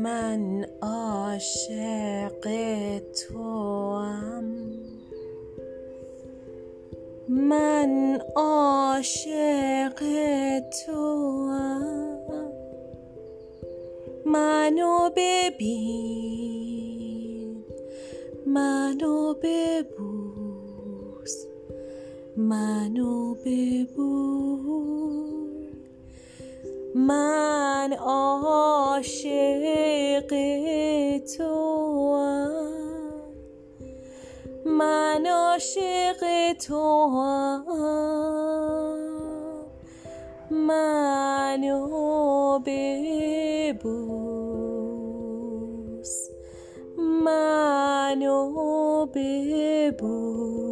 من عاشق توام، من عاشق توام. منو ببین، منو ببوس، منو ببوس. من عاشق توام، من عاشق توام. منو ببوس، منو ببوس.